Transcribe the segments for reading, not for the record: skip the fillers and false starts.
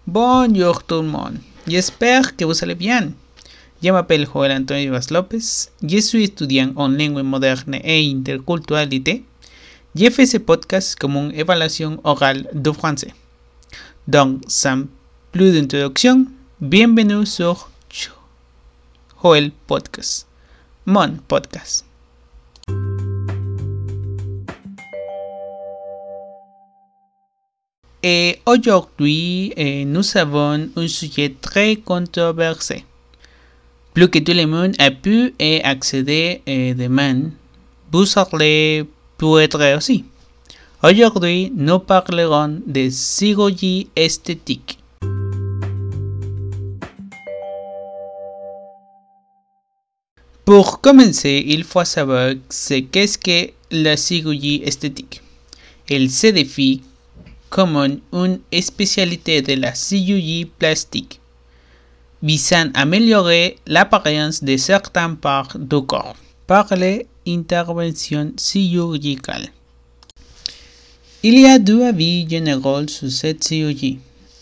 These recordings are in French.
Bonjour tout le monde, j'espère que vous allez bien. Je m'appelle Joel Antonio Vaz López, je suis étudiant en langue moderne et interculturalité. Je fais ce podcast comme une évaluation orale de français. Donc, sans plus d'introduction, bienvenue sur Joel Podcast, mon podcast. Et aujourd'hui, nous avons un sujet très controversé. Plus que tout le monde a pu accéder demain, vous allez pu être aussi. Aujourd'hui, nous parlerons de chirurgie esthétique. Pour commencer, il faut savoir qu'est-ce que la chirurgie esthétique. Elle se définit comme une spécialité de la chirurgie plastique, visant à améliorer l'apparence de certaines parts du corps par l'intervention chirurgicale. Il y a deux avis généraux sur cette chirurgie.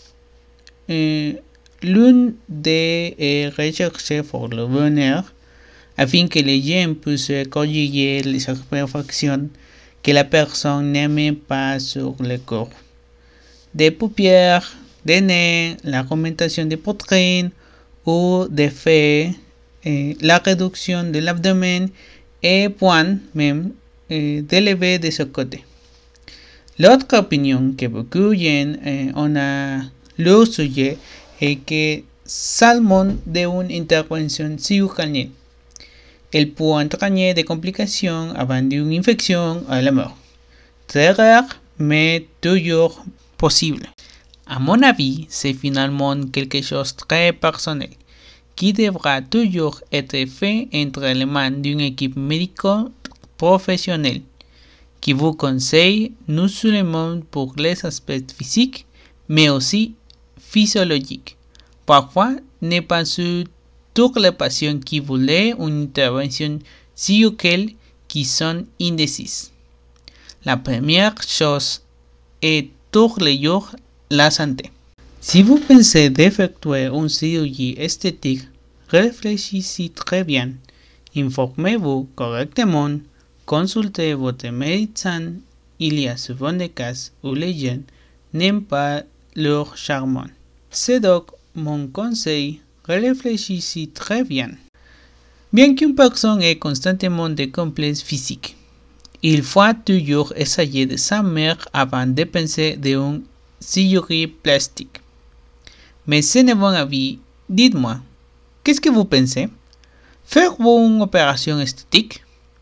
L'une est recherchée pour le bonheur, afin que les gens puissent corriger les imperfections que la personne n'aime pas sur le corps. Des paupières, des nez, l'augmentation des poitrines ou des faits, la réduction de l'abdomen et point même d'élever de ce côté. L'autre opinion que beaucoup de gens ont à leur sujet est que seulement d'une intervention chirurgicale, elle peut entraîner des complications avant d'une infection à la mort. Très rare, mais toujours possible. À mon avis, c'est finalement quelque chose de très personnel qui devra toujours être fait entre les mains d'une équipe médico-professionnelle qui vous conseille non seulement pour les aspects physiques, mais aussi physiologiques. Parfois, n'est pas sur tous les patients qui voulaient une intervention chirurgicale qui sont indécis. La première chose est tous les jours la santé. Si vous pensez d'effectuer une chirurgie esthétique, réfléchissez très bien, informez-vous correctement, consultez votre médecin. Il y a souvent des cas où les gens n'aiment pas leur charme. C'est donc mon conseil, réfléchissez très bien. Bien qu'une personne ait constamment des complexes physiques, il faut toujours essayer de s'améliorer avant de penser d'une chirurgie plastique. Mais c'est mon avis, dites-moi, qu'est-ce que vous pensez? Faire-vous une opération esthétique?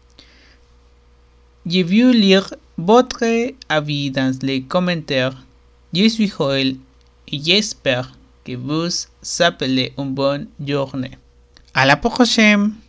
Je veux lire votre avis dans les commentaires. Je suis Joel et j'espère que vous appelez une bonne journée. À la prochaine!